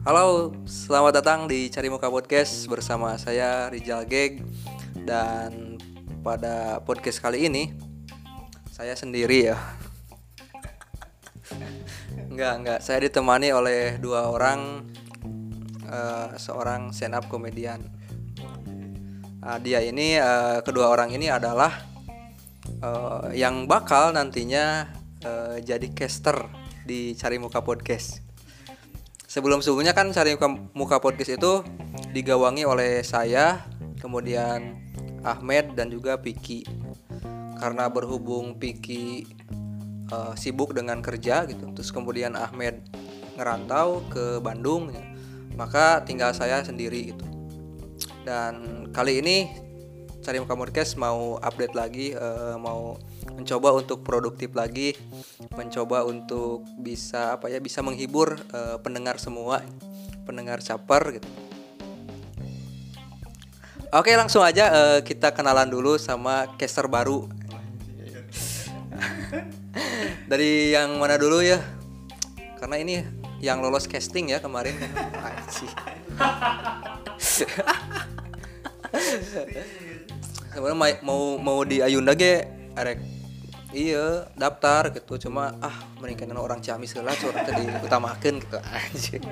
Halo, selamat datang di Cari Muka Podcast bersama saya Rizal Geg. Dan pada podcast kali ini saya sendiri ya. Enggak, saya ditemani oleh dua orang, seorang stand up komedian. Kedua orang ini adalah yang bakal nantinya jadi caster di Cari Muka Podcast. Sebelumnya kan Cari Muka Podcast itu digawangi oleh saya, kemudian Ahmed dan juga Piki. Karena berhubung Piki sibuk dengan kerja gitu, terus kemudian Ahmed ngerantau ke Bandung, maka tinggal saya sendiri gitu. Dan kali ini Cari Muka Podcast mau update lagi, mau mencoba untuk produktif lagi, mencoba untuk bisa menghibur pendengar semua, pendengar caper gitu. Oke, langsung aja kita kenalan dulu sama caster baru. Dari yang mana dulu ya? Karena ini yang lolos casting ya kemarin. Sebenarnya mau di Ayunda ge arek iya daftar gitu, cuma mendingan orang Ciamis heula curang teh diutamakeun gitu anjing.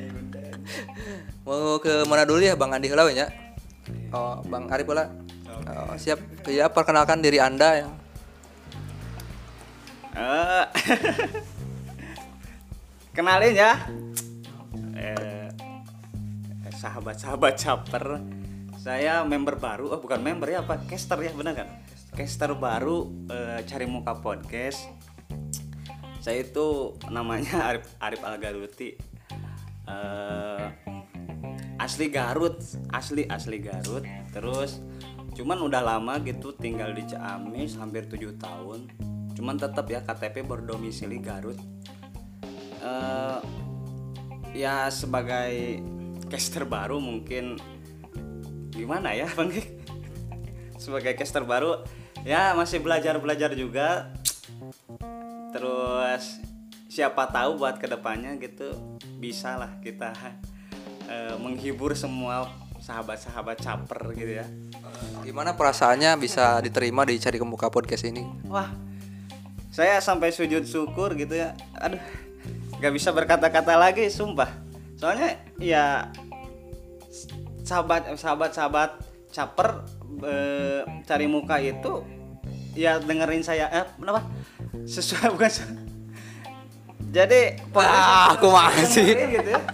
Mau ke mana dulu ya, Bang Andi heula we nya? Oh, Bang Arif heula. Oh, siap. Ya, perkenalkan diri Anda ya. Kenalin ya. Sahabat-sahabat caper. Saya member baru, bukan member ya, caster ya, benar kan? Caster baru Cari Muka Podcast. Saya itu namanya Arif Algaruti. Asli Garut. Terus cuman udah lama gitu tinggal di Ciamis hampir 7 tahun. Cuman tetap ya KTP berdomisili Garut. Ya sebagai caster baru mungkin gimana ya Bang? Sebagai caster baru ya masih belajar juga. Terus siapa tahu buat kedepannya gitu bisa lah kita menghibur semua sahabat-sahabat caper gitu ya. Gimana perasaannya bisa diterima di Cari Muka Podcast ini? Wah, saya sampai sujud syukur gitu ya. Aduh, gak bisa berkata-kata lagi sumpah. Soalnya ya sahabat caper Cari Muka itu ya dengerin saya kenapa sesuai bukan jadi aku masih gitu ya.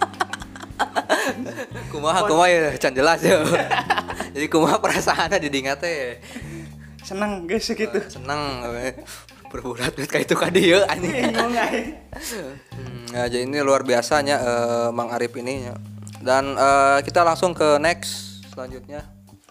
kumaha ya can jelas ya. Jadi kumaha perasaannya didingat teh? Seneng guys gitu. Seneng berbulat kayak itu ka dieu anjing. Jadi ini luar biasanya Mang Arif ini ya. Dan kita langsung ke next selanjutnya.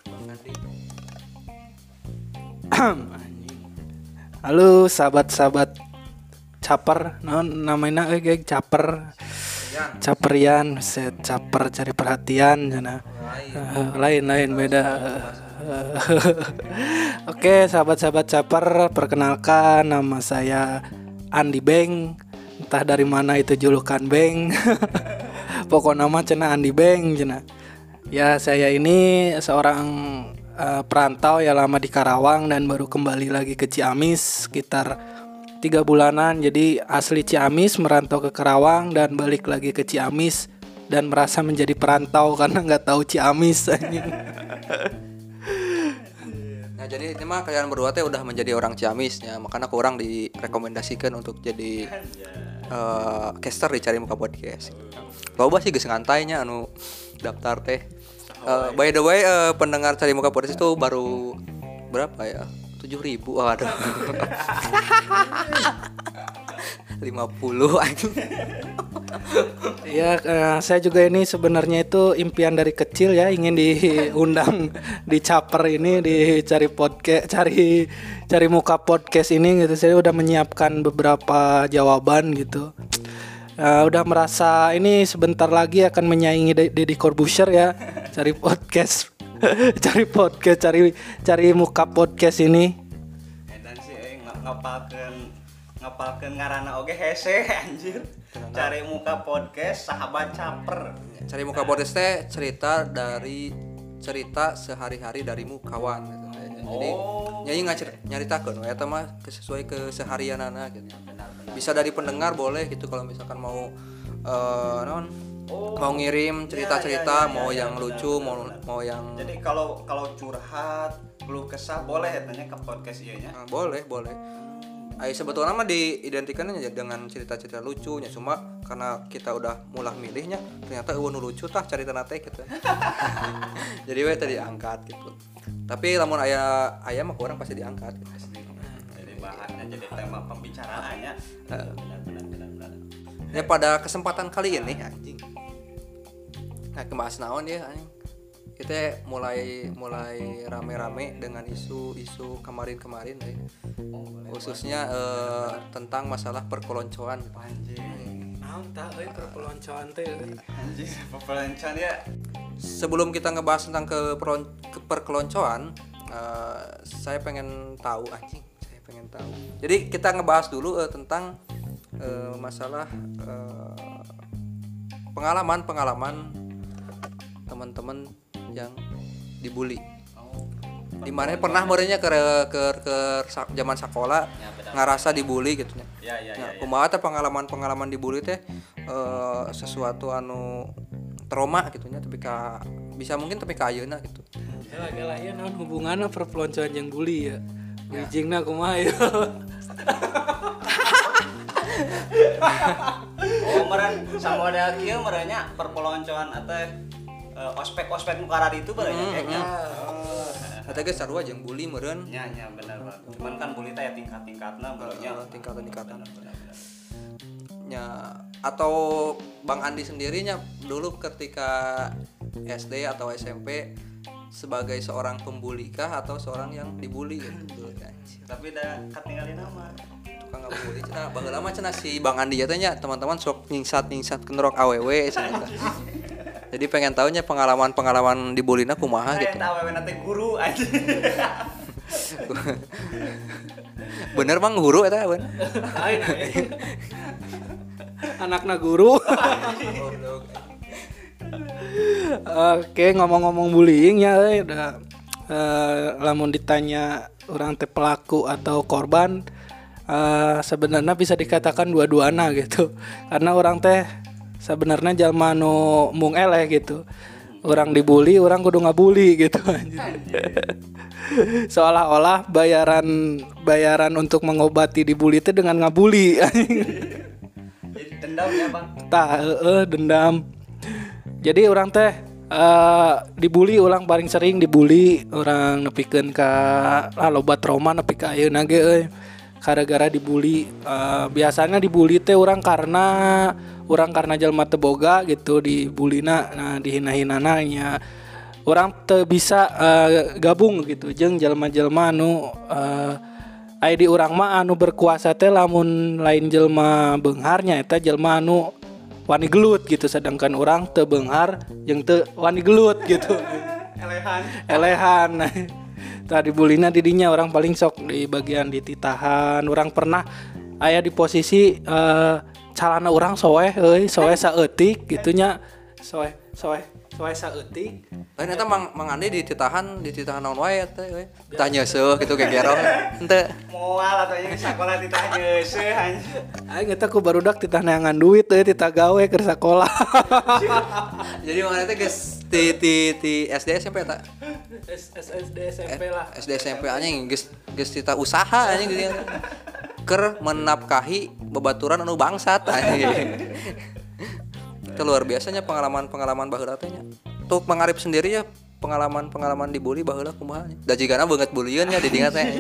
Halo sahabat-sahabat caper, namanya geng caper. Caperian, set caper cari perhatian cenah. Lain beda. Oke, sahabat-sahabat caper, perkenalkan nama saya Andi Beng. Entah dari mana itu julukan Beng. Pokok nama cenah Andi Beng cenah. Ya saya ini seorang perantau ya lama di Karawang dan baru kembali lagi ke Ciamis sekitar 3 bulanan. Jadi asli Ciamis merantau ke Karawang dan balik lagi ke Ciamis dan merasa menjadi perantau karena nggak tahu Ciamis. Nah jadi ini mah kalian berdua teh udah menjadi orang Ciamis ya, makanya kurang direkomendasikan untuk jadi caster di Cari Muka Podcast. Loba sih geus ngantainya anu daftar teh. By the way, pendengar Cari Muka Podcast itu baru berapa ya? 7.000. Waduh. 50 anjing. Ya, saya juga ini sebenarnya itu impian dari kecil ya, ingin diundang di caper ini, di cari muka podcast ini gitu. Saya udah menyiapkan beberapa jawaban gitu. Udah merasa ini sebentar lagi akan menyaingi Deddy Corbuzier ya, cari muka podcast ini. Dan sih ngapalkeun ngapalkeun ngaranna oge hese anjir. Cari muka podcast sahabat caper. Cari muka podcast teh cerita sehari-hari darimu kawan gitu. Jadi nyanyi nyaritakeun we eta mah sesuai keseharianana gitu. Bisa dari pendengar boleh gitu kalau misalkan mau mau ngirim cerita-cerita, mau yang lucu, mau yang jadi kalau curhat, keluh kesah boleh ya tanya ke podcast ieu nya. Boleh. Sebetulnya mah diidentikannya dengan cerita-cerita lucunya, cuma karena kita udah mulah milihnya ternyata nu lucu tah caritana teh gitu. Jadi we tadi angkat gitu. Tapi lamun aya mah orang pasti diangkat gitu. Jadi bahannya jadi tema pembicaraannya. Benar. Ya pada kesempatan kali ini anjing. Nah, kebahas naon ya anjing. Kita mulai rame-rame dengan isu kemarin ya. Khususnya tentang masalah perkeloncoan. Anjing. Naon tah euy perkeloncoan teh. Anjing, perkeloncoan ya. Sebelum kita ngebahas tentang perkeloncoan, saya pengen tahu. Jadi kita ngebahas dulu tentang masalah pengalaman teman-teman yang dibully. Dimana pernah merenya ke zaman sekolah ngerasa dibully gitu nya. Ya. Kumaha teh pengalaman dibully teh sesuatu anu trauma gitu nya tapi bisa mungkin tapi ka ayeuna gitu. Gela ieu naon hubunganna perpeloncoan jeung bully ya. Wijingna kumaha ya. Meureun samodel kieu merenya perpeloncoan atau ospek mukarad itu baranya kayaknya. Eta ge sarua jeung bully meureun. Nya bener banget. Cuman kan bully teh ya tingkat-tingkatna barunya tingkatan. Ya atau Bang Andi sendirinya dulu ketika SD atau SMP sebagai seorang pembuli kah atau seorang yang dibully gitu kan. Tapi udah ketinggalin nama. Tukang ngabully cenah baheula mah cenah si Bang Andi ya teh nya teman-teman sok nyingsat kenrok awewe cenah. Jadi pengen tahunya pengalaman dibullyna kumaha gitu. Eta awewe teh guru aja. Bener Bang guru eta bener. Anakna guru. Oke, ngomong-ngomong bullying ya udah lamun ditanya orang teh pelaku atau korban sebenarnya bisa dikatakan dua-duana gitu. Karena orang teh sebenarnya jalma nu mung eleh gitu. Orang dibully, orang kudu ngabuli gitu. Seolah-olah bayaran untuk mengobati dibully itu dengan ngabuli. Jadi dendam ya, Bang. Dendam. Jadi orang teh dibully, orang paling sering dibully, orang nepikeun ka loba trauma nepi ka ayeuna ge euy. Gara-gara dibully, biasanya dibully teh orang karena jalma teu boga gitu dibulina, nah dihina-hinana nya. Orang teu bisa gabung gitu jeung jalma-jalma anu aya di urang mah anu berkuasa teh lamun lain jelma beungharnya eta jelma anu wani gelut gitu, sedangkan orang teu beunghar jeung teu wani gelut gitu. Elehan. Tadi bulina didinya orang paling sok di bagian dititahan. Orang pernah aya di posisi calana orang soeh saeutik gitunya. Soeh saeutik. Lain eta Mang Andi dititahan naon wae teh we. Tanya seuh kitu gegerong henteu. Moal atuh nya sakola ditah geuseuh anjing. Aing eta ku barudak titah neangan duit teh titah gawe keur sakola. Jadi Mang Andi teh geus ti SD SMP eta. SD SMP lah. SD SMP anjing geus titah usaha anjing gitu. Keur menapkahi babaturan anu bangsat anjing. Itu luar biasanya pengalaman baheula teh nya. Untuk mengarip sendiri ya pengalaman dibully baheula kumaha nya. Da jigana beungeut bulieun nya di dinya teh.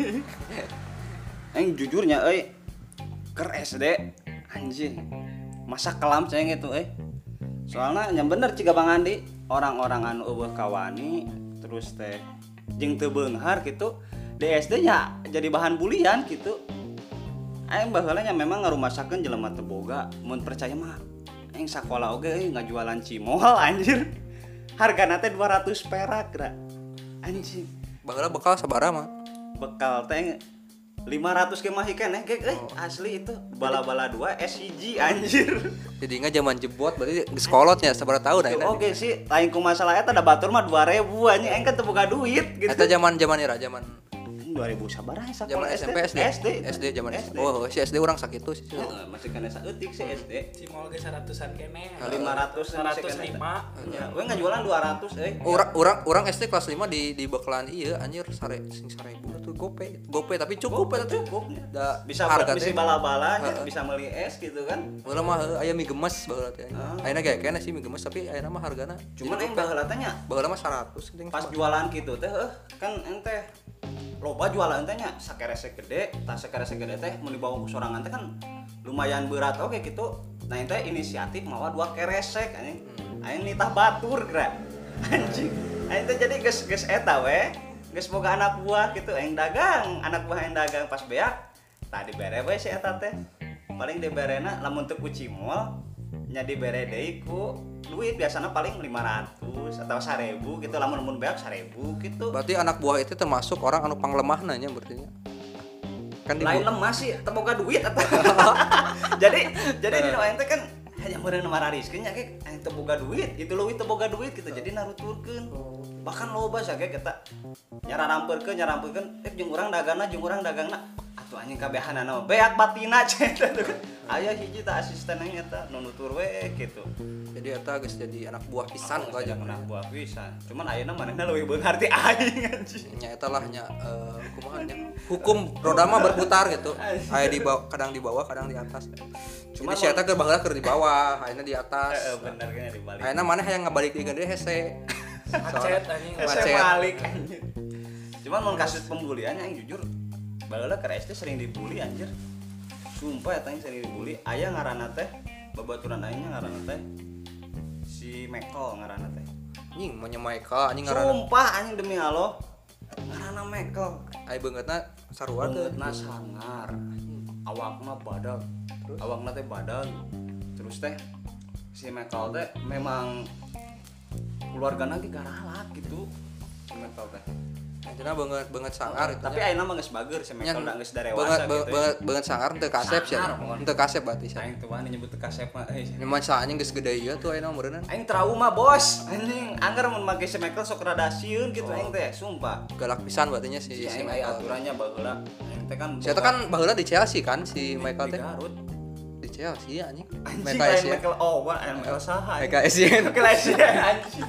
Jujurnya euy keur SD anjing. Masa kelam cenah gitu euy. Soalnya yang bener ciga Bang Andi, orang-orang anu eueuh kawani terus teh jeung teu beunghar gitu di SD nya jadi bahan bulian gitu. Aing baheula nya memang ngarumasakeun jelema teu boga, mun percaya mah aing sakola oge euy ngajualan cimol anjir. Hargana teh 200 perak, Ra. Anjing. Baheula bekal sabaraha mah? Bekal teh 500 ke mah ikan asli itu bala-bala 2 SCG anjir. Jadi nggak zaman jebot berarti geus kolotnya sabar tahun ayeuna. Oke sih, lain ku masalah eta da batur mah 2000 anjing aing kan teu boga duit gitu. Eta zaman era zaman 2000 sabaraha zaman SMP SD zaman SD. Oh, si SD urang sakitu sih. Masih kana saeutik si SD. Si mall ge 100-an kene. 500 105. Ya, we ngajualan 200 Orang SD kelas 5 di bakalan ieu anjir sing 1000 tuh gope tapi cukup eta tuh. Da bisa harga bisa teh. bala-bala bisa meuli es gitu kan. Baheula mah aya mie gemes baheula teh. Ayeuna ge kene sih mie gemes tapi ayeuna mah hargana Cuman aing baheula teh nya baheula mah 100 geuning. pas jualan gitu teh kan ente loba jualan teh nya sakerese gede, tas sakerese gede teh mun dibawa ku sorangan teh kan lumayan berat oke gitu. Nah ente inisiatif mawa 2 keresek anjing. Aing nitah batur geura. Anjing. Aing teh jadi geus eta we. Geus boga anak buah gitu aing dagang, anak buah aing dagang pas beak. Tah dibere we si eta teh. Paling diberena lamun teu ku cimol nya dibere deui ku duit biasanya paling 500 atau 1000 gitu lamun beak 1000 gitu. Berarti anak buah itu termasuk orang anu panglemahna nya berarti nya. Kan Lain lemah sih teu boga duit eta. jadi di aing teh kan hanya meureun marariskeun nya ge aing teu boga duit, itu leuwih teu boga duit gitu. Jadi naruturkeun. Bahkan loba sage kita nyararampeurkeun jeung urang dagangna atuh anjing kabehanana beak batina cenah tuh. Aya hiji tah asisten aing eta nu nutur we gitu. Jadi eta geus jadi anak buah pisan gua aja. anak buah pisan. Cuman ayeuna manehna leuwih beungarti aing anjing. Nya eta lah nya kumaha nya. Hukum roda mah berputar gitu. Aya di bawah, kadang di bawah, kadang di atas. Cuman si eta keur baheula keur di bawah, ayeuna di atas. Bener kan di balik. Ayeuna maneh hayang ngabalik di gede hese. Macet anjing. Saya balik anjir. Cuman mun kasus pembulian yang jujur baheula ke SD sering dibully anjir. Sumpah eta sering dibully. Aya ngaranna teh babaturan aing ngaranna teh si Mekel ngaranna teh. Anjing mun Michael anjing ngaranna. Sumpah anjing demi Allah. Ngaranna Mekel. Ai beungeutna sarua teh. Beungeutna sangar. Awakna badag. Awakna teh badag. Terus teh si Mekel teh memang keluargana ge galak gitu. Si Mekel teh. Anjeunna beungeut sangar itu. Tapi ayeuna mah geus bager si Mekel da geus darewasa gitu. Beungeut sangar teu kasep sih. Teu kasep berarti sih. Aing teu wani nyebut teu kasep mah Nyaman sa anjing geus gede ieu tuh ayeuna umurna. aing trauma bos anjing anggar mun make si Mekel sok rada sieun gitu aing teh sumpah Galak pisan berarti nya si aing aya Michael. aturannya baheula aing teh kan Si eta kan baheula di Chelsea kan si Michael di teh. Garut Di Chelsea anjing. anjing Michael lain Essien. Mekel Owen Mekel saha Michael Essien. Mekel Essien anjing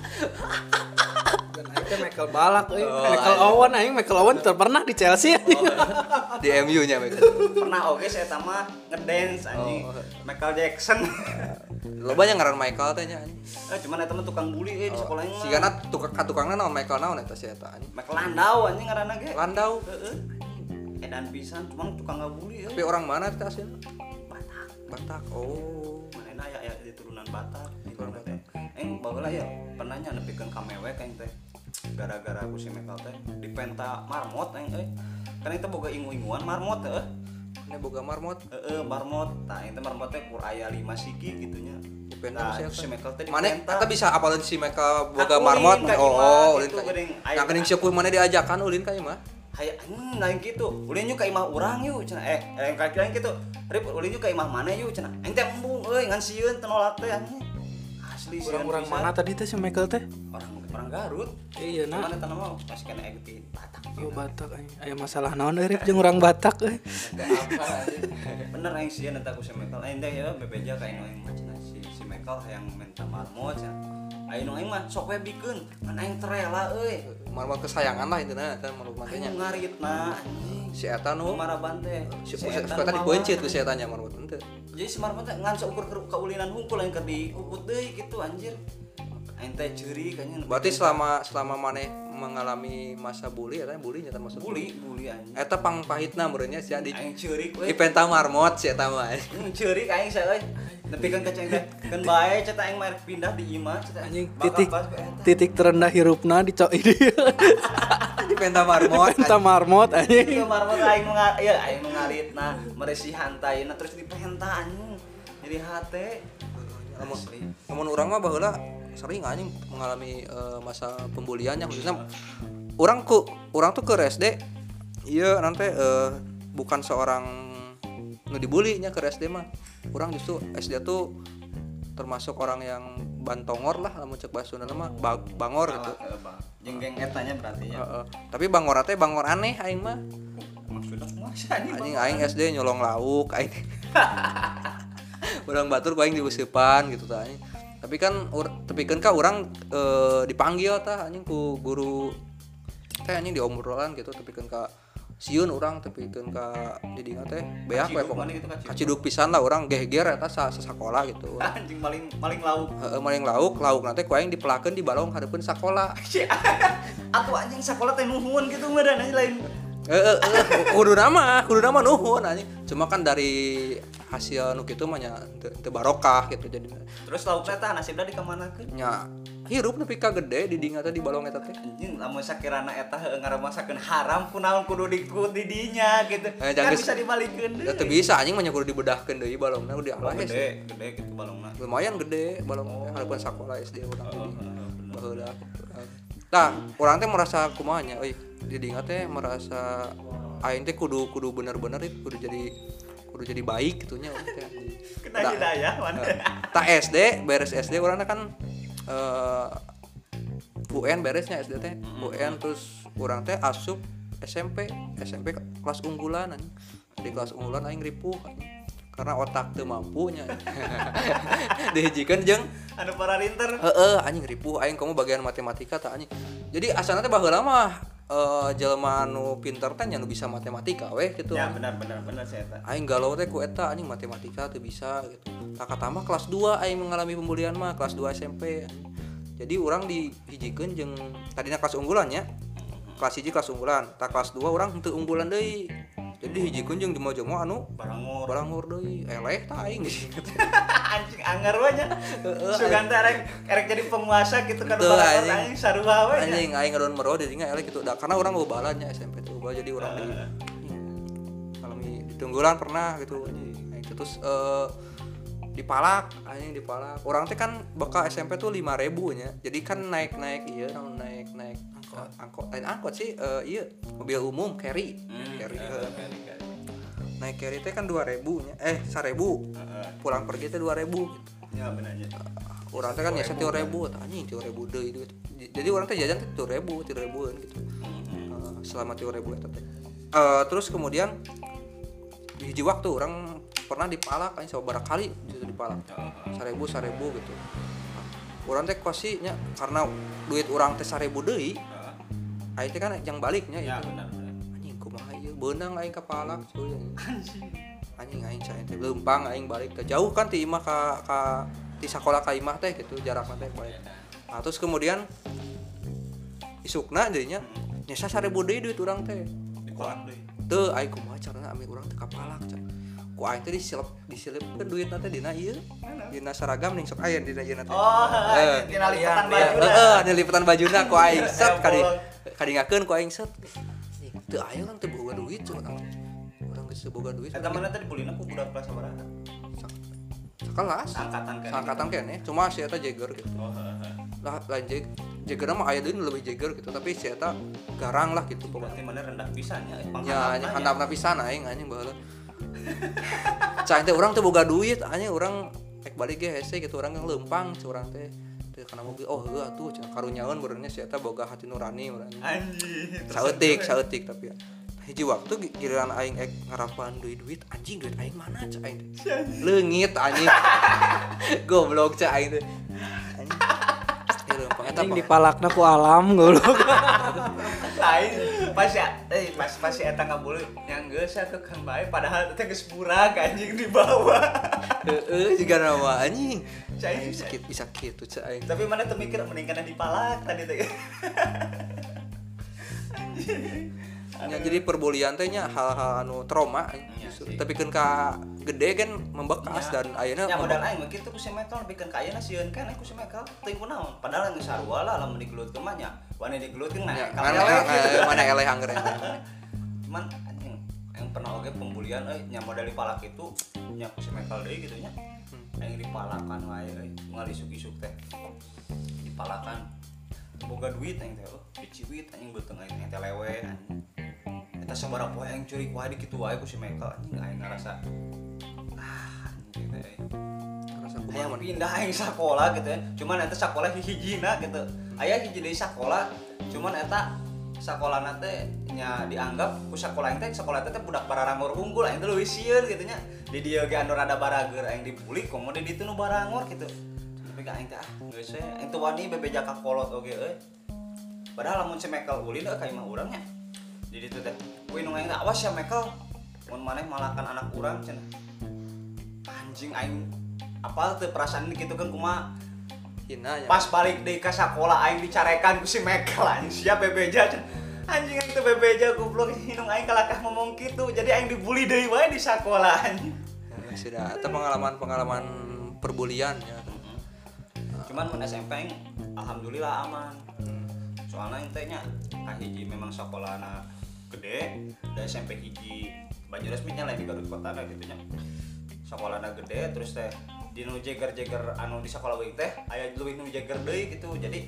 Dan aing teh Michael Balak euy. Michael Owen aing Michael Owen teu pernah di Chelsea anjing. Di MU nya Michael. pernah oke saya mah ngedance anjing Michael Jackson Loba nya ngaran Michael teh nya anjing. cuman eta mah tukang bully di sekolah mah Sigana tukangna naon Michael naon eta si eta anjing. Michael Landau anjing ngaranna ge Landau. heeh edan pisan cuman tukang ngabully Tapi orang mana eta aslinya? Batak Batak. Oh. manehna aya di turunan Batak di mana teh aing baheula ya pernah nya nepikeun ka mewek aing teh gara-gara ku si Mekel teh dipenta marmot aing kan itu boga ingu-inguan marmot heuh Ini boga marmot. marmot tah aing teh marmot teh kur aya 5 siki gitunya Dipenta nah, si Mekel teh Mana dipenta eta bisa apalin si Michael boga Aku marmot. ulin ka Oh, imah ulin gitu, ka. geuning. Yang kening sepuh mana diajakan ulin ka imah. hayang lain gitu ulin yuk ka imah urang yuk cenah kaki lain gitu rip ulin yuk ka imah mana yuk cenah aing teh embung euy ngan sieun teu nolak teh anjing asli sieun Orang-orang pisan. mana tadi teh si Michael teh? orang Garut Iya nah. mana tanah mau masih kena egutin Batak Yo Batak anjing. Aya masalah naon euy Rip jeung urang Batak euy. bener aing sieun eta ku si Michael aing teh ya bebeja ka aing mah cenah si Michael hayang minta marmot cenah aing aing mah sok we bikeun kan aing terela euy Marmot kesayangan lah intinya kan marmot matanya. aing ngaritna anjing Si eta nu maraban teh si eta tadi beunceut ku si eta nya marmot henteu. jadi si marmot teh ngan seukur kaulinan hungkul aing keur dikukut deui gitu anjir aing teh ceurik anjing Berarti selama maneh mengalami masa bully eta bully nya termasuk bully anjing Eta pangpahitna meureunnya sia di aing ceurik we penta marmot si eta mah. ceurik aing saya euy nepikeun ka ceng teh kan bae cetak aing mah pindah di imah cetak Anjing bakal titik pas ku eta. titik terendah hirupna di cok ini. Di penta marmot. Penta marmot anjing. Ieu marmot aing aing ngaritna meresi hantaina terus dipenta anjing jadi hate Namun orang mah baheula sering anjing mengalami masa pembuliannya khususnya orang tuh ke SD ieu nanti bukan seorang nu dibully nya ke SD mah. Urang justru SD tuh termasuk orang yang bantongor lah lamun cek basuna mah bangor gitu. Jenggeng etanya berarti ya. Tapi bangor teh bangor aneh aing mah. Maksudnya masa Anjing aing SD nyolong lauk aing. Urang batur ku aing diuseupan gitu tah anjing. Tapi kan tepikeun ka urang dipanggil tah anjing ku guru teh anjing diomrolan gitu tepikeun ka sieun urang tepikeun ka didinga teh beak we pokona kaciduk pisan lah urang geger eta sakola gitu. Anjing maling lauk. Maling lauk nanti ku aing dipelakeun di balong hareupeun sakola. Atuh anjing sakola teh nuhun gitu mah dan lain. Kudu nama nuhun anjing. Cuma kan dari hasil nu kitu mah nya teu barokah gitu jadi. Terus laukna teh nasibna dikamanakeun? Nya hirup nepi ka gede di dinga teh di balong eta teh. Anjing lamun sakirana eta heueuh ngaramasakeun haram kunaon kudu dikut di dinya gitu. Kan bisa dibalikeun deui. Teu bisa anjing mah nya kudu dibedahkeun deui balongna kudu dialah gede gitu balongna. Lumayan gede balong hareupeun sakola SD urang teh. Baheula. Tah, urang teh merasa kumaha nya euy di dinga teh merasa aing teh kudu bener-bener kudu jadi baik gitunya teh. Kena hidayah mana. Tak SD beres SD urang kan UN beresnya SD teh. UN terus urang teh asup SMP kelas unggulan anjing. Di kelas unggulan aing ripuh anjing. Karena otak teu mampu nya. Dihijikeun jeung anu para rinter. Anjing ripuh aing kamu bagian matematika tah anjing. Jadi asalna teh baheula mah jelema anu pinter teh nya nu bisa matematika weh gitu. Ya benar saya eta. Aing galau teh ku eta anjing matematika teu bisa gitu. Tak katama kelas 2 aing mengalami pembulian mah kelas 2 SMP. Jadi urang dihijikeun jeung tadinya kelas unggulan nya. Kelas 1 kelas unggulan, tak kelas 2 urang teu unggulan deui. Jadi dihijikeun jeung jemo-jemo anu barangor deui. Eleh tah aing gitu. Anjing anger we nya. Sugan teh erek jadi penguasa gitu kan barangor anjing sarua we. Anjing aing ngaron meroh di dinya eleh gitu. Karena urang loba balannya SMP tuh. Jadi urang alami ditunggulan pernah gitu anjing. Terus dipalak. Orang teh kan bakal SMP tuh 5.000 nya. Jadi kan naik ieu naik angkot sih ieu mobil umum carry. Naik carry teh kan 2.000 nya. 1.000. Pulang pergi teh 2.000 gitu. Ya benar nya. Urang teh kan nyesa 3.000 tah anjing 3.000 deui duit. Jadi urang teh jajan teh 3.000-an gitu. Selama 3.000 eta teh. Terus kemudian di hiji waktu orang pernah dipalak kan sabaraha kali gitu dipalak. 1.000 gitu. Urang teh kosinya karena duit urang teh 1.000 deui. Aing teh kan yang baliknya ya, itu. Benar. Anjing kumaha ieu beunang aing kapalak cuy. Anjing aing cain teh leumpang aing balik teh jauh kan ti imah ka ti sakola ka imah teh gitu jarakna teh balik. Nah, terus kemudian isukna deui nya nyesa 1.000 deui duit urang teh. Dipalak deui. Teu aing kumaha carana ami urang teh kapalak can. Ku aing teh disilipkeun duitna teh dina ieu. Dina seragam ning sok aya dina ieu teh. Oh, dina lipetan bajuna. Dina lipetan bajuna ku aing set kadingakeun ku aing set. Teu aya urang teh boga duit curang. Urang geus boga duit. Eta mana teh dibulina ku budak kelas sabaraha? Sakelas. Angkatan keneh, cuma si eta jeger gitu. Oh, Lah lain jegerna mah aya deui lebih jeger gitu, tapi si eta garang lah gitu berarti mana rendah pisan nya. Ya, handapna pisan aing anjing baheula. Cain teh urang teh boga duit anjing urang ek balik ge hese gitu urang yang leumpang curang teh. Teu kana mobil oh heuh atuh karunyaeun beurangnya si eta boga hati nurani urang. Anjing. Saeutik tapi ya. Hiji waktu giliran aing ek ngarapan duit anjing duit aing mana cak aing teh. Leungit anjing. Goblok cak aing teh. Anjing. Leumpang eta dipalakna ku alam goblok. Lain pas eta ngabuleuh yang geus ke Kang Bae padahal teh geus burag anjing di bawah. Juga nama anjing. Cai bisa kitu cak aing. Tapi mana teu mikir mending kana dipalak tadi teh. Ya, jadi perbulian teh nya hal-hal anu trauma tapi kan ka gede kan membekas dan ayeuna nya modal aing mah kitu ku si Mekel pikeun ka ayeuna sieun kan ku si Mekel teuing kunaon padahal geus sarua lah lamun digelutkeun mah nya wani digelutkeun nah mana eleh angger cuman anjing yang pernah oge pembulian nya modal dipalak itu nya ku si Mekel deui kitu nya aing dipalakan wae moal isuk-isuk teh dipalakan boga duit aing teh biciwit anjing beuteung aing teh lewe anjing eta sabaraha poe aing curi ku adik kitu wae ku si Michael anjing aing ngarasa anjing teh Rasa yang kumaha pindah aing sakola gitu ya cuman eta sakola hiji-hijina gitu aya hiji deui sakola cuman eta sakolana teh nya dianggap ku sakola aing teh sakola teh budak bararangor unggul aing teh leuwih sieun kitu nya di dieu ge anu rada barager aing dibuli komo di ditu nu barangor gitu tapi ka aing teh geus we aing teh wani bebeja ka kolot oge euy padahal lamun si Michael ulin ka imah urang nya di ditu teh kuy nu aing teh awas ya Michael mun maneh malakan anak urang cenah anjing aing apal teu perasaan kitu kan kumaha hina nya. pas balik deui ka sakola aing dicarekan ku si Michael anjing sia bebeja anjing itu bebeja goblok hinung aing kalakah ngomong kitu jadi aing dibully deui wae di sakola anjing Sudah eta pengalaman perbulian ya. cuman mun SMP aing alhamdulillah aman soalnya aing teh nya kahiji memang sakolana gede da SMP hiji baju resminya lain di Garut kotana gitu nya sakolana gede terus teh di nu jeger-jeger anu di sakola leuwih teh aya leuwih nu jeger deui gitu jadi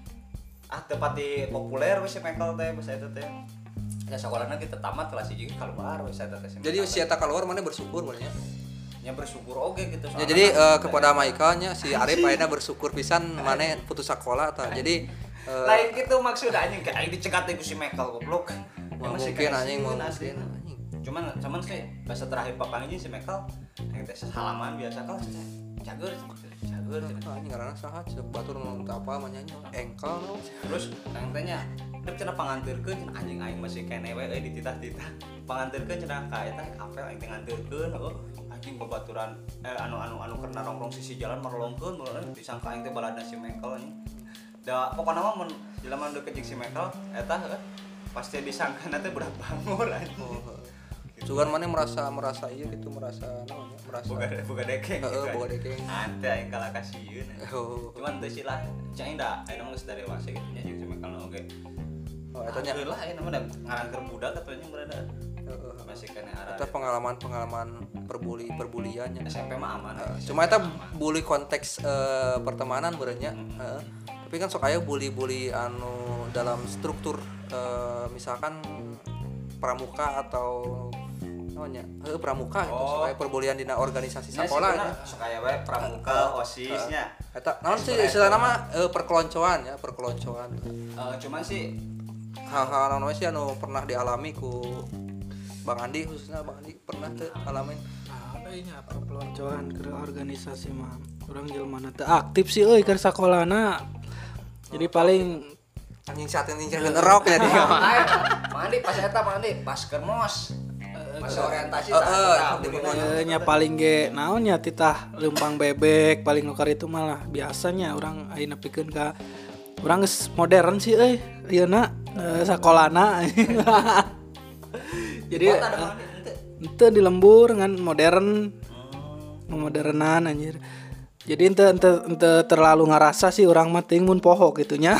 teu pati populer we si Michael teh basa eta teh ya sakolana kita tamat kelas 1 kaluar we eta teh Jadi si eta keluar mana bersyukur benernya. nya bersyukur oge gitu Ya jadi kepada Michael nya si Arif ayeuna bersyukur pisan mana putus sekolah tah. Jadi lain gitu maksud anjing kayak dicegat ku si Michael goblok mungkin anjing mau mungkin cuman sih bahasa terakhir papang ini si Michael yang tes halaman biasa kau cager anjing ngaranna saha ceuk batur nu teu apa mah nyanyi engkel no. terus yang tanya dep cenah pangantirkeun anjing aing masih kene we dititah-titah pangantirkeun cenah ka eta apel aing teh ngantirkeun anjing babaturan anu karena nongkrong sisi jalan marolongkeun disangka aing teh balada si Michael anjing da pokona mah mun jelema nu deket si Michael eta pasti disangka teh budak bangor anjing Sugan mana merasa iya gitu merasa namanya merasa buka dekeng gitu buka dekeng ante aing kalah kasieun cuman teu sih lah cai da aya mah geus dari dewasa gitu nya jeung sama kalau oge eta nya lah aya mah ngarangkeun budak atunya berada masih kena arah eta pengalaman perbuliannya SMP mah aman cuma eta bully konteks pertemanan berenya tapi kan sok aya bully anu dalam struktur misalkan pramuka atau namanya pramuka itu supaya perbulian dina organisasi sekolah ya supaya we pramuka osisnya eta naon sih istilah nama perkeloncoan cuman sih hal-hal naon sih anu pernah dialami ku Bang Andi khususnya Bang Andi pernah teu alamin ada nya perkeloncoan ke organisasi mah urang jelema teu aktif sih euy keur sakolana jadi paling anjing saat ini ngerok ya dia Mandi pas eta pas kermos pas orientasi nya paling ge naon nya titah lempang bebek paling nukar itu malah biasanya orang ayeuna pikeun ka urang geus modern sih euy ayeuna sakolana jadi ente di lembur ngan modern modernan anjir jadi ente terlalu ngarasa sih orang mah teuing mun poho gitunya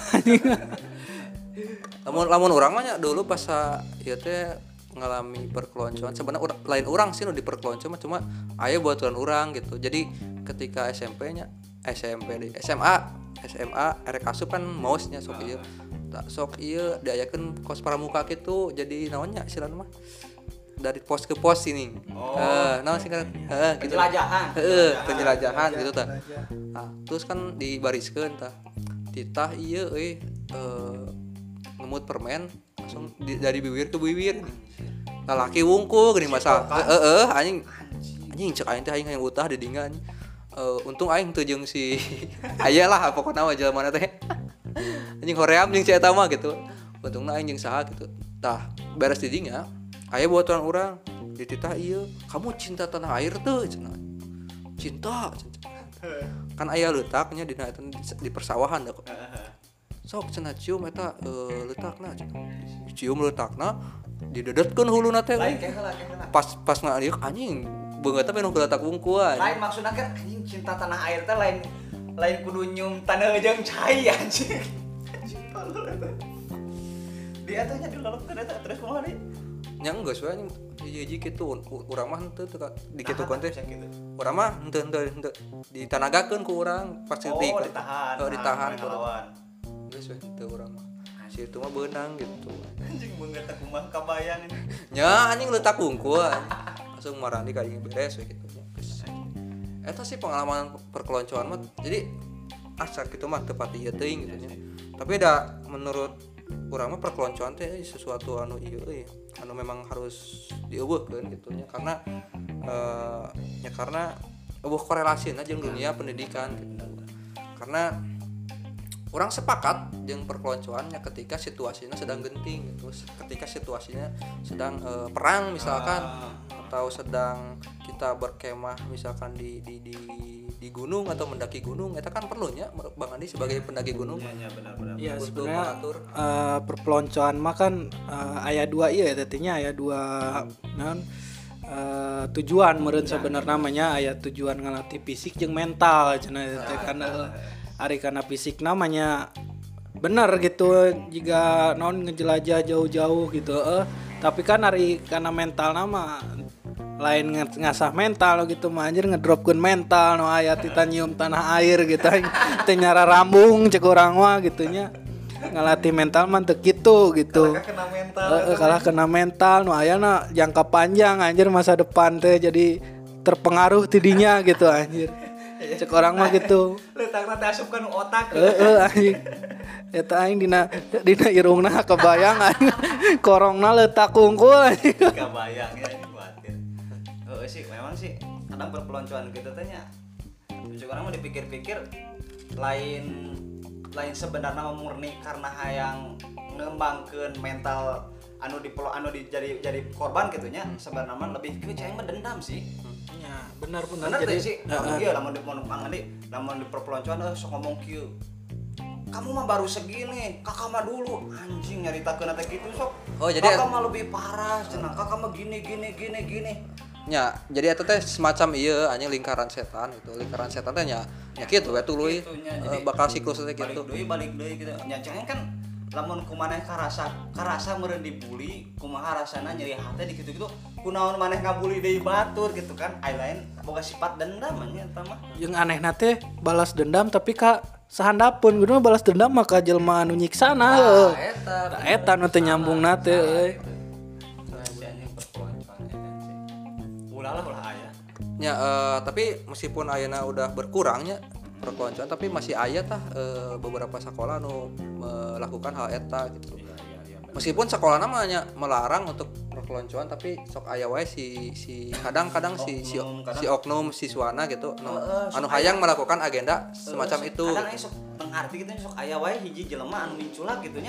lamun urang mah nya dulu pas ieu teh ngalami perkeloncoan sebenarnya lain urang sih nu diperkeloncoan cuma aya buaturan urang gitu jadi ketika SMA erek asup kan mausnya sok ieu diayakeun kos pramuka gitu jadi naonnya istilahna mah dari pos ke pos ini naon sih kan gitu penjelajahan gitu tah terus kan dibariskeun tah titah ieu ngemut permen langsung dari bibir ke bibir lalaki wungkul geuning masa anjing cek aing teh aing hayang utah di dingan untung aing teu jeung si aya lah pokona mah jelema teh anjing hoream jeung si eta mah gitu untungna aing jeung saha gitu tah beres di dinya aya buatan urang dititah ieu kamu cinta tanah air teu cenah cinta kan aya leutaknya di persawahan da sok cenah cium eta leutakna cium leutakna didedetkeun huluna teh pas ngaliuk anjing beungeut teh nu letak wungkulan lain maksudna kan anjing cinta tanah air teh lain kudu nyium tanah jeung cai anjing dia teh nya dilolopkeun eta terus kumaha deui nya geus we anjing hiji kitu urang mah henteu di kitu konten urang mah henteu ditanagakeun ku urang pas ditahan geus we teu urang mah si itu mah beunang gitu. Anjing beungeut teh kumaha kabayang ini. Nya anjing leutak unggul langsung marani ka ieu beres we kitu nya. Eta sih pengalaman perkeloncoan mah jadi asal gitu mah teu pati ieu teuing gitu nya. Tapi da menurut urang mah perkeloncoan teh sesuatu anu ieu euy, anu memang harus dieuweuhkeun gitu nya karena karena eueuh korelasina jeung dunia pendidikan gitu. Karena orang sepakat jeung perkeloncoannya ketika situasinya sedang genting gitu, ketika situasinya sedang perang misalkan atau sedang kita berkemah misalkan di gunung atau mendaki gunung, eta kan perlunya Bang Andi sebagai pendaki gunung. Iya benar. Iya Untuk sebenarnya mengatur. perpeloncoan mah kan aya dua ieu tadinya aya dua tujuan meureun sebenarnya namanya aya tujuan ngalatih fisik jeung mental cenah teh kan ari kana fisik namanya bener gitu jika non ngejelajah jauh-jauh gitu tapi kan ari kana mental nama lain ngasah mental gitu mah anjir ngedropkeun mental no aya titanium tanah air gitu teh nyara rambung cek urang mah gitu nya ngalatih mental mah teu kitu gitu. Kalah kena mental nu ayana jangka panjang anjir masa depan teh jadi terpengaruh tidinya gitu anjir. Cek orang mah gitu. Letakna teh asupkeun otak. Anjing. Eta aing dina irungna kebayang anjing. Korongna leutak kungkul anjing. Kebayang ya ini khawatir. Sih memang sih kadang perpeloncoan gitu teh nya. Cek orang mah dipikir-pikir lain sebenarnya murni karena hayang ngembangkeun mental anu jadi korban gitu nya sebenarnya lebih ke cai dendam sih. Ya, benar jadi sih iya lamun di perpeloncoan sok ngomong kieu. Kamu mah baru segini, kakak mah dulu anjing nyaritakeun teh kitu sok. Oh, jadi kakak mah lebih parah cenah, kakak mah gini. Nya, jadi eta teh semacam ieu anjing lingkaran setan gitu. Lingkaran setan teh nya kitu we tuluy bakal siklus teh gitu. Balik deui gitu. Nya jangan kan lamun kumaneh karasa meureun dibully, kumaha rasana nyeri hate di kitu-kitu, kunaon maneh ngabully deui batur gitu kan. Ai lain boga sifat dendam nya eta mah. Yang anehna teh balas dendam tapi ka sahandapun kudu balas dendam mah ka jelema anu nyiksana heuh. Eta nu teu nyambungna teh euy. Ulah aya. Ya, tapi meskipun ayeuna udah berkurangnya perkeloncoan tapi masih aya tah beberapa sekolah nu melakukan hal eta gitu. Meskipun sekolah namanya melarang untuk perkeloncoan tapi sok aya wae si kadang-kadang si oknum siswana gitu anu hayang melakukan agenda semacam itu. Kadang aya sok tengarti gitu sok aya wae hiji jelema anu minculak gitu nya.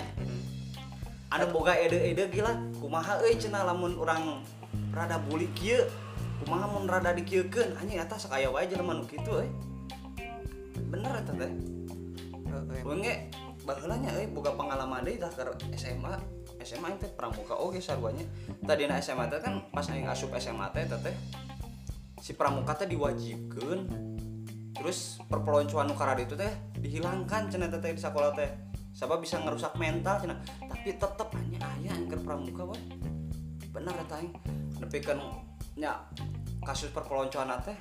Anu boga ede-ede gila kumaha euy cenah lamun urang rada bully kieu. Kumaha mun rada dikieukeun anjing eta sok aya wae jelema nu kitu euy. Bener eta teh. Weunge baheula nya euy boga pengalaman deui tah keur SMA aing teh pramuka oge sarwanya. Tadina SMA teh kan pas aing asup SMA teh si pramuka teh diwajibkeun. Terus perpeloncoan nu karada itu teh dihilangkan cenah teh di sekolah teh. Sabab bisa ngerusak mental cenah. Tapi tetep aya keur pramuka we. Bener eta aing. Nepikeun nya kasus perpeloncoan teh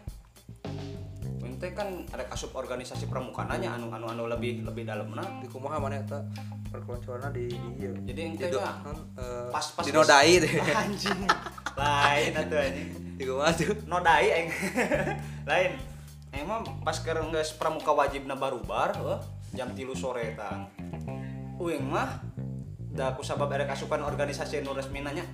ente kan ada kasus organisasi pramukananya anu lebih dalamna Di kumaha mana eta perkeloncoanna di ieu. jadi ente nya pas dinodai deh. anjing lain atuh anjing Di kumaha tuh? nodai aing lain emang pas keur geus pramuka wajibna barubar jam 3 sore tah uing mah da kusabab ada kasupan organisasi nu resmina nya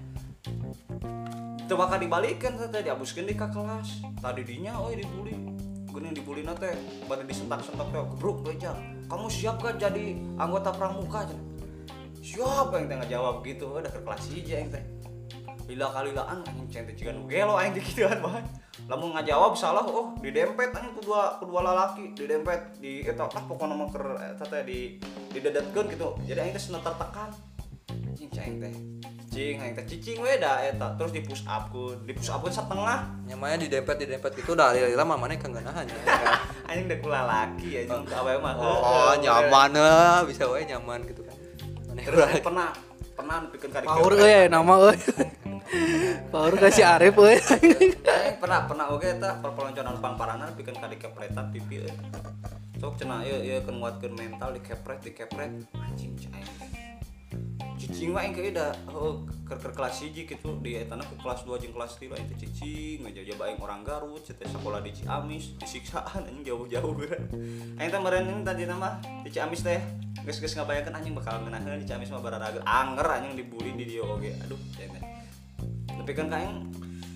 teu bakal dibalikeun teh diabuskeun di ka kelas. Tadi dinya dibully. Geuning dibully na teh bade disentak-sentak teh gebruk beja. Kamu siap gak jadi anggota pramuka? Siap aing teh ngajawab gitu. Da ke kelas hiji aing teh. Lila-kalilaan anjing cente jiga nu gelo aing dikituan bae. Lamun ngajawab salah didempet anjing kedua lalaki, didempet di eta pokona mah keur eta teh didedetkeun gitu. Jadi aing teh sena tertekan. Anjing cing teh. Aing teh cicing we da eta terus di push up setengah Nyamanya didempet gitu dah lila mah maneh kangeunahan nya. anjing da kula laki anjing awewe mah nyaman bisa we nyaman gitu kan. Maneh terus pernah nepikeun ka Power euy nama euy. Power ka si Arif euy. pernah oge eta perpeloncoan pangparana nepikeun ka dikepletan pipi euy. Sok cenah ieu keun nguatkeun mental dikepret anjing cai. cicing mah engke da keur kelas 1 gitu di etana ke kelas 2 jeung kelas 3 itu cicing aja bae orang Garut teh sekolah di Ciamis disiksaan anjing jauh-jauh kan aing teh meureun tadi nama di Ciamis teh geus ngabayangkeun anjing bakal ngeunaheun di Ciamis mah bararaga anger anjing dibully di dieu oge aduh teh tapi kan kaing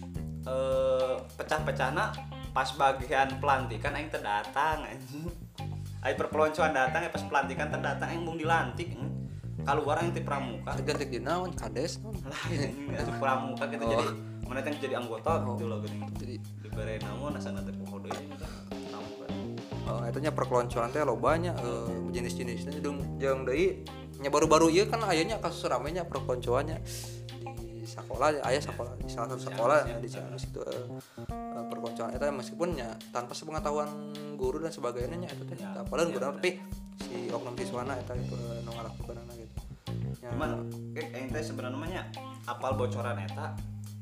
pecah-pecahna pas bagian pelantikan aing teh datang anjing ai perpeloncoan datang pas pelantikan teh datang aing mung dilantik keluar yang ti pramuka ganti di naon kades naon lain pramuka kita jadi mana yang jadi anggota gitu loh gini jadi dibere namun asana teh poho deui pramuka etanya perkeloncoan teh lobanya jenis-jenisnya jeung deui nya baru-baru ieu kan aya kasus ramenya perkeloncoannya di sekolah aya sekolah di salah satu sekolah di Ciamis itu perkeloncoan eta meskipun nya tanpa sepengetahuan guru dan sebagainya eta teh padahal guru tapi si oknum siswana eta itu nu ngalakukeunana gitu. Cuman aing teh sebenarnya apal bocoran eta.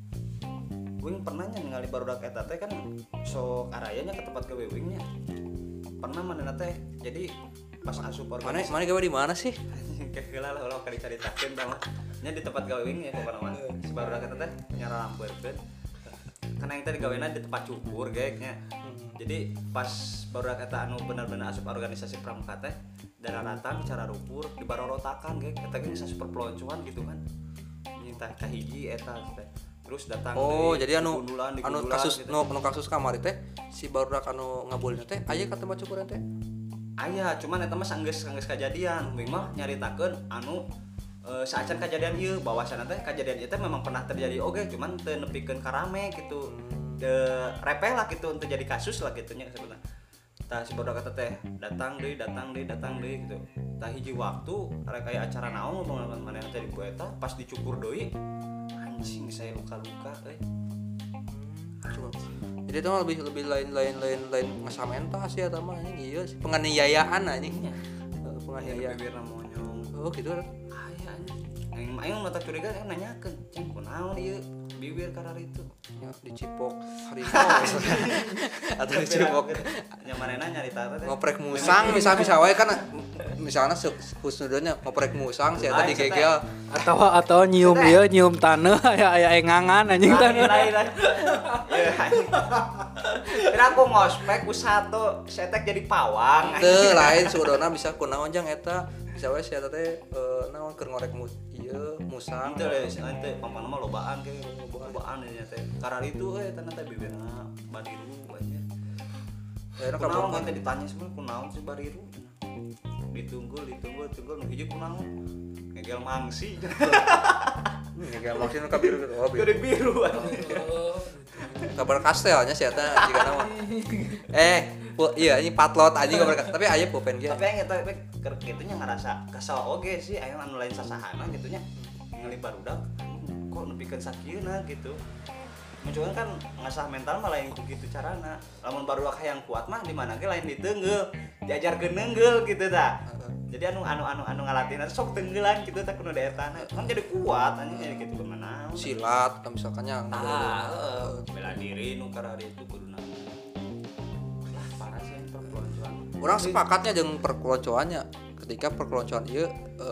Wing pernah nya ningali barudak eta teh kan sok arayanya ke tempat gawe wing nya. Pernah manehna teh jadi pas asup organisasi. Mana gawe di mana sih? Kayak heula lah ulah caritakeun tah mah. Nya di tempat gawe wing ya pokona mah. Si barudak eta teh nyara lambeurkeun. Karena yang tadi gawena di tempat cukur kayaknya. Jadi pas barudak eta anu bener-bener asup organisasi pramuka teh dararatan cara rupur di barorotakan kayak eta ge super peloncoan gitu kan. Minta kahiji eta teh. Terus datang jadi anu kasus gitu. nu kasus kamari teh si barudak anu ngabulina teh aya ka tempat cukuran teh. Aya, cuman eta mah sanggeus kajadian. Wing mah nyaritakeun anu saacan kejadian ieu bahwasana teh kejadian ieu teh memang pernah terjadi oge cuman teu nepikeun ka rame gitu. Repeh lah gitu untuk jadi kasus lah gitu nya sebenarnya. Tah si barudak eta teh datang deui gitu. Tah hiji waktu rek aya acara naon ngomong manehna teh di ku eta pas dicukur deui anjing saya luka-luka euy. Jadi itu mah lebih lain ngasamenta sih eta mah anjing ieu penganiayaan anjing. Penganiayaan Bibirna monyong. Oh gitu. Aya anjing. Aing mata curiga nanyakeun, "Cing, kunaon ieu bibir karar itu?" Ya dicipok harimau atau dicipok nya manehna nyarita teh ngoprek musang bisa wae kan misalnya husnudnya ngoprek musang si eta digegel atau nyium ieu nyium taneuh aya engangan anjing taneuh. lain. Kira aku ngospek ku satu setek jadi pawang. teu lain sudona bisa kunaon jang eta bisa wae si eta teh naon keur ngorek ieu musang Itu le teh pampana mah lobaan ge lobaan nya teh. Karar itu tanah teh bibirna badiru anjir. ya Kunaon teh ditanya semua kunaon si badiru. Ditunggu nu hiji kunaon? Ngegel mangsi. ngegel maksudna ka biru gitu. Oh Biru. kabar kastelnya si eta jika nama iya ini patlot anjing kabar tapi aya pulpen ge Tapi yang eta keur kitu nya ngarasa kesel oge sih aya anu lain sasahana gitu nya. Ngali barudak kok nepikeun sakieuna gitu. Mencoba kan ngasah mental mah lain gitu carana. Lamun barudak hayang kuat mah di mana ge lain diteungeul, diajarkeun neungeul gitu tah. Jadi anu ngalatina sok teungeulan gitu tah kudu daetana. Kan jadi kuat anjing jadi gitu kemana. silat atau misalkannya Bela diri nu karari itu kuduna. Lah parah sih perpeloncoan. orang sepakatnya dengan perkeloncoannya ketika perkeloncoan ieu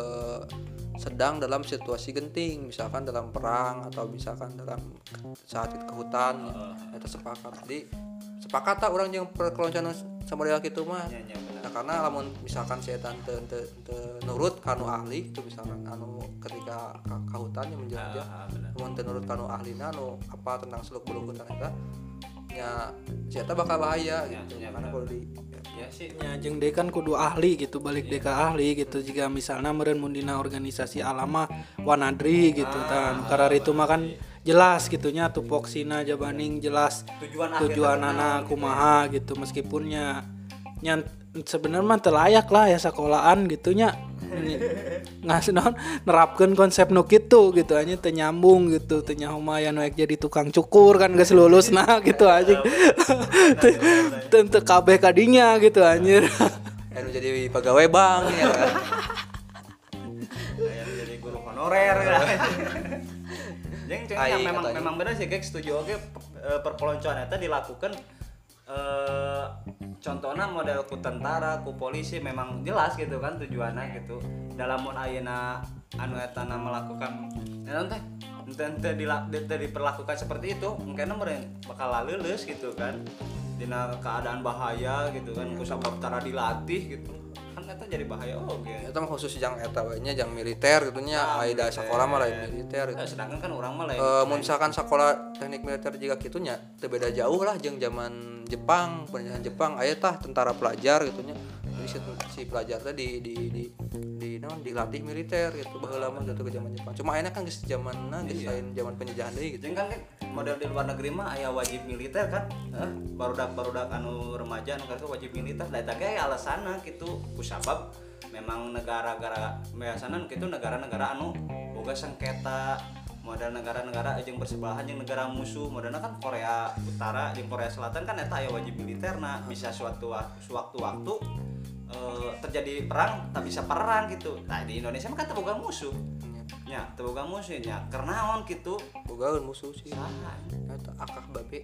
sedang dalam situasi genting misalkan dalam perang atau misalkan dalam saat ke hutan eta sepakat jadi sepakat tak orang yang perkeloncoan sama dia gitu mah nah, karena lamun misalkan si eta teu nurut kanu ahli itu misalkan anu ketika ka hutan yang menjelajah lamun teu nurut kanu ahlina anu apa tentang seluk beluk hutan eta nya si eta bakal bahaya gitu karena kalau di ya sih Ya jeung deui kan kudu ahli gitu balik deui ka ahli gitu jika misalnya meureun mun dina organisasi alama wanadri gitu kan karar itu mah kan jelas gitunya tupoksina jabaning jelas tujuan anak kumaha gitu meskipunnya nya sebenarnya mah teu layak lah ya sekolahan gitunya ngasih naon nerapkeun konsep nu kitu gitu aja teu nyambung gitu teu nyaho mah aya nu jadi tukang cukur kan geus lulusna gitu anjing teu kabeh kadinya gitu anjir anu jadi pegawai bank ya kan yang jadi guru honorer kan. Yang memang benar sih guys setuju oke perpeloncoan eta dilakukan contohnya model ku tentara, ku polisi memang jelas gitu kan tujuannya gitu. Dalam mun ayeuna anu eta melakukan naon teh ente diperlakukan seperti itu, mungkin meureun bakal leuleus gitu kan. Dina keadaan bahaya gitu kan, ku sabab tara dilatih gitu. Kan eta jadi bahaya oge. Eta mah khusus jang eta we nya jang militer gitu nya, aya sakola mah lain militer gitu. Sedangkan kan urang mah lain. Mun misalkan sakola teknik militer juga kitu nya teu beda jauh lah jeung zaman Jepang, penjajahan Jepang aya tah tentara pelajar gitu nya. Jadi si pelajar teh di naon dilatih militer gitu baheula mah gitu ke zaman Jepang. Cuma ayeuna kan geus zamanna geus lain zaman penjajahan deui gitu. Jeung kan model di luar negeri mah aya wajib militer kan. Barudak anu remaja anu karek wajib militer. Da eta ge alasanna kitu kusabab memang negara-negara biasana kitu negara-negara anu boga sengketa modal negara-negara jeung bersebelahan jeung negara musuh. Modelna kan Korea Utara jeung Korea Selatan kan eta aya wajib militerna. Bisa suatu waktu terjadi perang tak bisa perang gitu. Nah di Indonesia mah kan teu boga musuh. Nya teu boga musuh nya. Kernaon kitu? Bogaeun musuh sih. Saha? Eta akah babe.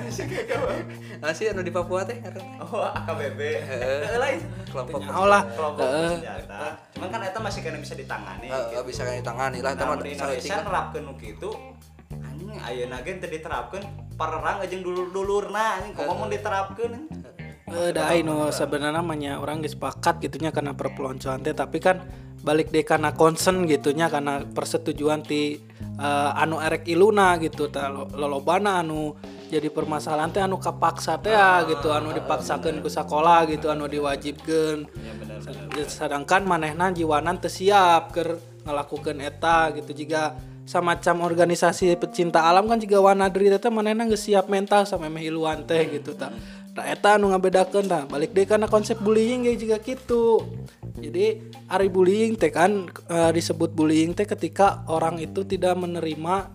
Asih anu di Papua teh ngaranna. Oh, AKBB. Heeh lain Kelompok lah. kelompok bersenjata. Cuman kan eta masih kena bisa ditangani. bisa kan ditangani lah eta mah di Indonesia nerapkeun nu kitu. Anjing ayeuna ge teu diterapkeun perang jeung dulur-dulurna anjing komo mun diterapkeun. Da anu sebenarnya namanya orang geus sepakat gitunya karena perpeloncoan teh, tapi kan balik deh karena concern gitunya karena persetujuan ti anu erek iluna gitu tah lolobana anu jadi permasalahan teh anu kapaksa teh gitu anu dipaksakeun ku sakola gitu anu diwajibkeun. Ya bener. Sedangkan manehna jiwanan teu siap keur ngalakukeun eta gitu. Jika samacam organisasi pecinta alam kan juga Wanadri teh manehna geus siap mental samemeh iluan teh gitu tah. Nah eta anu ngabedakeun tah. Balik deui kana konsep bullying ge juga kitu. Jadi ari bullying teh kan disebut bullying teh ketika orang itu tidak menerima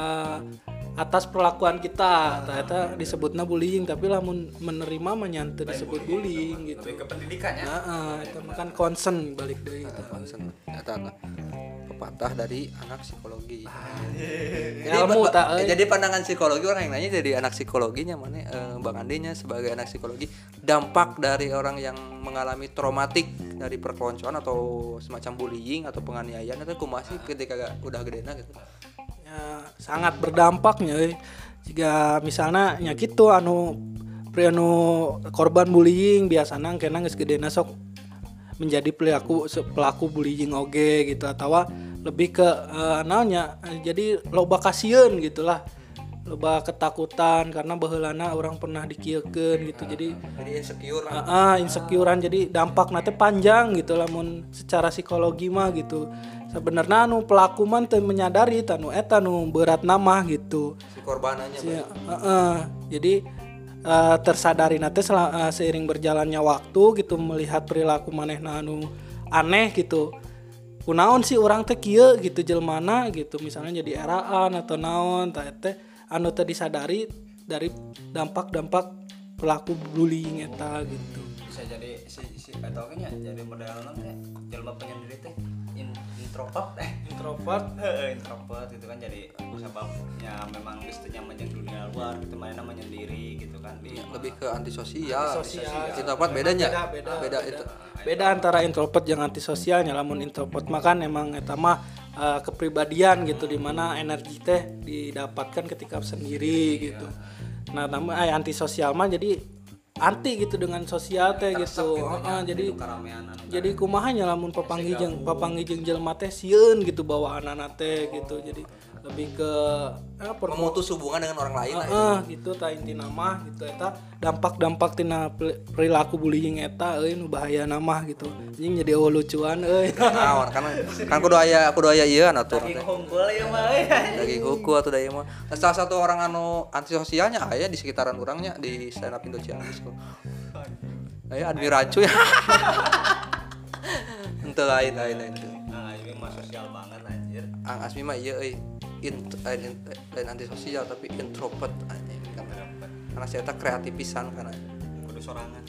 atas perlakuan kita. Tah eta disebutna bullying, tapi lamun menerima mah nya teu disebut bullying gitu. Lebih ke pendidikannya. Heeh, eta mah kan concern balik deui gitu. concern eta pepatah dari anak psikologi. Ilmu tak Jadi pandangan psikologi orang yang nanya jadi anak psikologinya mana Bang Andinya sebagai anak psikologi dampak dari orang yang mengalami traumatik dari perkeloncoan atau semacam bullying atau penganiayaan itu kumaha sih ketika udah gedena gitu. ya, sangat berdampaknya jika misalnya nya kitu anu korban bullying biasana kena geus gedena sok menjadi pelaku bullying oge gitu atau lebih ke naonnya jadi loba kasieun gitulah, loba ketakutan karena baheulana orang pernah dikieukeun gitu. Jadi insecure insecurean jadi dampak nanti panjang gitu lamun secara psikologi mah gitu. Sebenarnya anu pelaku mah teu menyadari tanu eta nu berat nama gitu. si korbanannya. Jadi tersadari nanti seiring berjalannya waktu gitu melihat perilaku manehna anu aneh gitu. Kunaon sih orang teh kieu gitu jelmana gitu misalnya jadi eraan atau naon tah teh anu teu disadari dari dampak-dampak pelaku bullying eta gitu. Bisa jadi si eta nya jadi modelna teh jelema penyendiri teh introvert gitu kan jadi sebabnya memang geus teu nyaman jeung dunia luar gitu mainna menyendiri gitu kan Lebih ke antisosial. Introvert bedanya. Beda itu. Beda antara introvert jeung antisosialnya. Lamun introvert mah kan emang eta mah kepribadian gitu di mana energi teh didapatkan ketika sendiri gitu. Nah, namun antisosial mah jadi anti gitu dengan sosial teh gitu. Jadi kumaha nya lamun papanggih jeung jelema teh sieun gitu bawaanana teh gitu. Jadi lebih ke memutus hubungan dengan orang lain lah gitu tah intina mah gitu eta dampak-dampak tina perilaku bullying eta nu bahayana mah gitu. Anjing jadi lucuan Naon kan kudu aya ieu atuh teh. Daging hungkul ieu mah Daging hukum atau da ieu mah. Salah satu orang anu antisosialnya aya di sekitaran urangnya di stand up Indo Ciamis kok. Aya Admi Rancu ya. Henteu lain. Nah, ini mah sosial banget anjir. Ang Asmi mah ieu euy lain antisosial tapi introvert anjing karena saya tak kreatif pisan karena Kudu sorangan.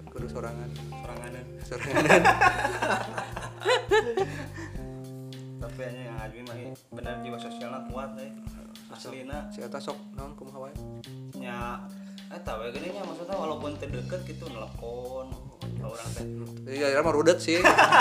Tapi nya yang Admi mah benar jiwa sosialna kuat euy. Aslina si eta sok naon kumaha wae nya Eta we gini nya maksudnya walaupun terdekat gitu nelpon ke orang teh. Iya, mah rudet sih.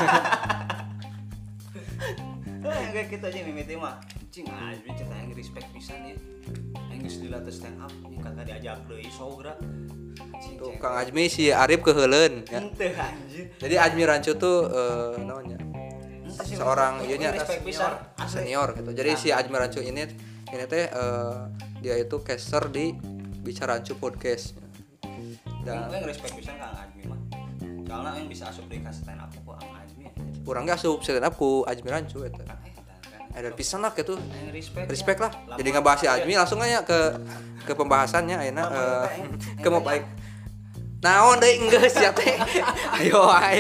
Kayak kita aja mimiti mah. Cing Azmi cerita yang respect pisan ya. Yang dilatih stand up nya kagak diajak deui sogra. Tuh Kang Ajmi si Arif keheuleun ya. Henteu anjir. Jadi Ajmi Rancu tuh namanya seorang ieunya respect pisan senior gitu. Jadi si Ajmi Rancu ini teh dia itu caster di Bicara Rancu podcast. Dan yang respect pisan Kang Azmi mah. Soalnya yang bisa asup di stand up ku Kang Azmi. Urang ge asup stand up ku Ajmi Rancu eta. Ada pisan lah gitu. Respect lah. Jadi ngebahas si Ajmi langsung aja ke pembahasannya ayeuna ke mau baik. Naon deui geus ya teh. Ayo ae.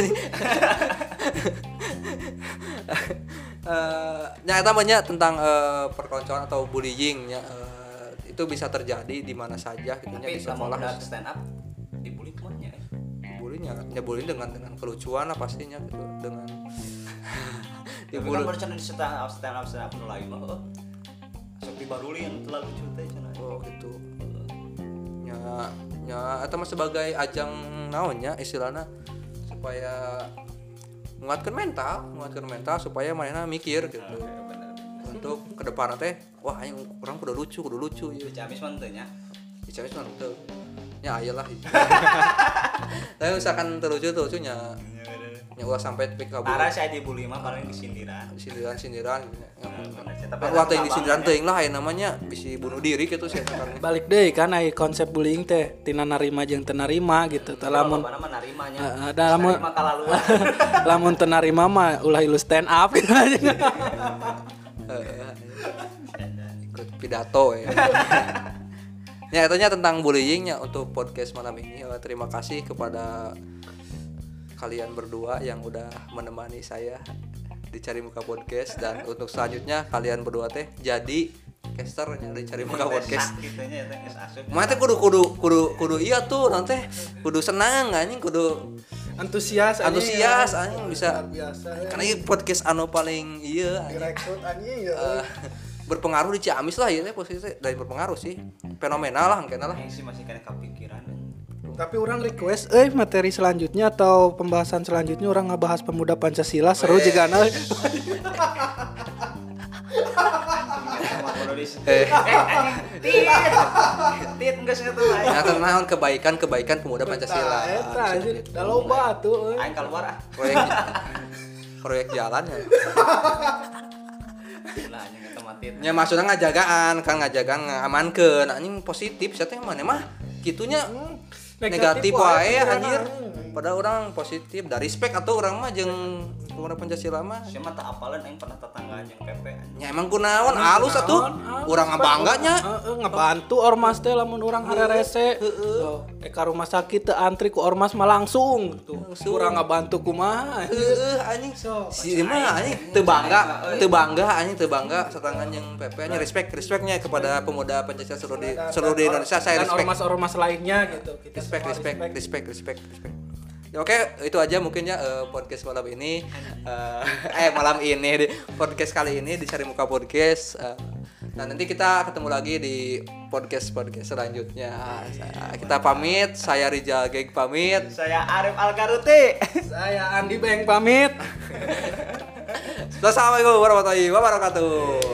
Nya eta mah nya tentang perkoncoan atau bullying nya itu bisa terjadi di mana saja gitu nya di sekolah stand up dibully mah nya. Bullying dengan kelucuan lah pastinya gitu dengan dibully. Kan di stand up nu lain mah sok dibaruli yang terlalu lucu teh cenah. Oh gitu. Nya eta mah sebagai ajang naonnya istilahna supaya nguatkeun mental supaya manehna mikir gitu. Untuk ke depan teh wah aing urang kudu lucu ieu. Camis mah teu nya. Camis mah teu. Nya aya lah. Tapi misalkan teu lucu nya. Nya ulah sampai tepik kabur. Parah saya dibully mah paling disindiran gitu. Wah teh disindiran teuing lah aya namanya bisi bunuh diri gitu sih kan. Balik deui kan aya konsep bullying teh tina narima jeung teu narima gitu. Tah lamun narimanya. Lamun lamun teu narima mah ulah ilu stand up gitu aja. Ikut pidato ya. Ya itunya tentang bullyingnya untuk podcast malam ini. Terima kasih kepada kalian berdua yang udah menemani saya di Cari Muka Podcast, dan untuk selanjutnya kalian berdua teh jadi casternya di Cari Muka Podcast. Mana teh kudu iya tuh nanti kudu senang anjing, kudu antusias anjing bisa biasa. Karena ini podcast anu paling iya Direkrut anjing ya. Berpengaruh di Ciamis lah ya posisi dari berpengaruh sih. Fenomenal lah kayaknya lah. Sih masih kena kepikiran. Tapi orang request materi selanjutnya atau pembahasan selanjutnya orang ngebahas pemuda Pancasila seru juga nah. Tit geus ngeutuh aing. Nah, naon kebaikan pemuda Pancasila. Eta anjir, da loba atuh. Aing keluar ah. Proyek jalan ya. Lah anjing eta mah tit. Nya maksudnya ngajagaan ngamankeun anjing positif sia teh mah kitunya negatif wae anjir. Padahal orang positif da respect atau orang mah jeung pemuda Pancasila mah. Sia mah teu apalan aing pernah tetanggaan jeung PP anjing. Nya emang kunaon alus atuh. Urang ngabangganya. Ngebantu ormas teh lamun urang harerese. Ka rumah sakit teu antri ku ormas mah langsung tuh. Urang ngabantu kumaha. Anjing. Si mah anjing teu bangga setangan yang PP nya respectnya kepada pemuda Pancasila seluruh di Indonesia. Saya dan respect. Ormas lainnya gitu. Kita Respect. Ya, oke, itu aja mungkin ya podcast malam ini. Malam ini di podcast kali ini di Cari Muka Podcast. Nah, nanti kita ketemu lagi di podcast selanjutnya. Kita pamit, saya Rijal Geng pamit. Saya Arif Algaruti. Saya Andi Beng pamit. Assalamualaikum warahmatullahi wabarakatuh.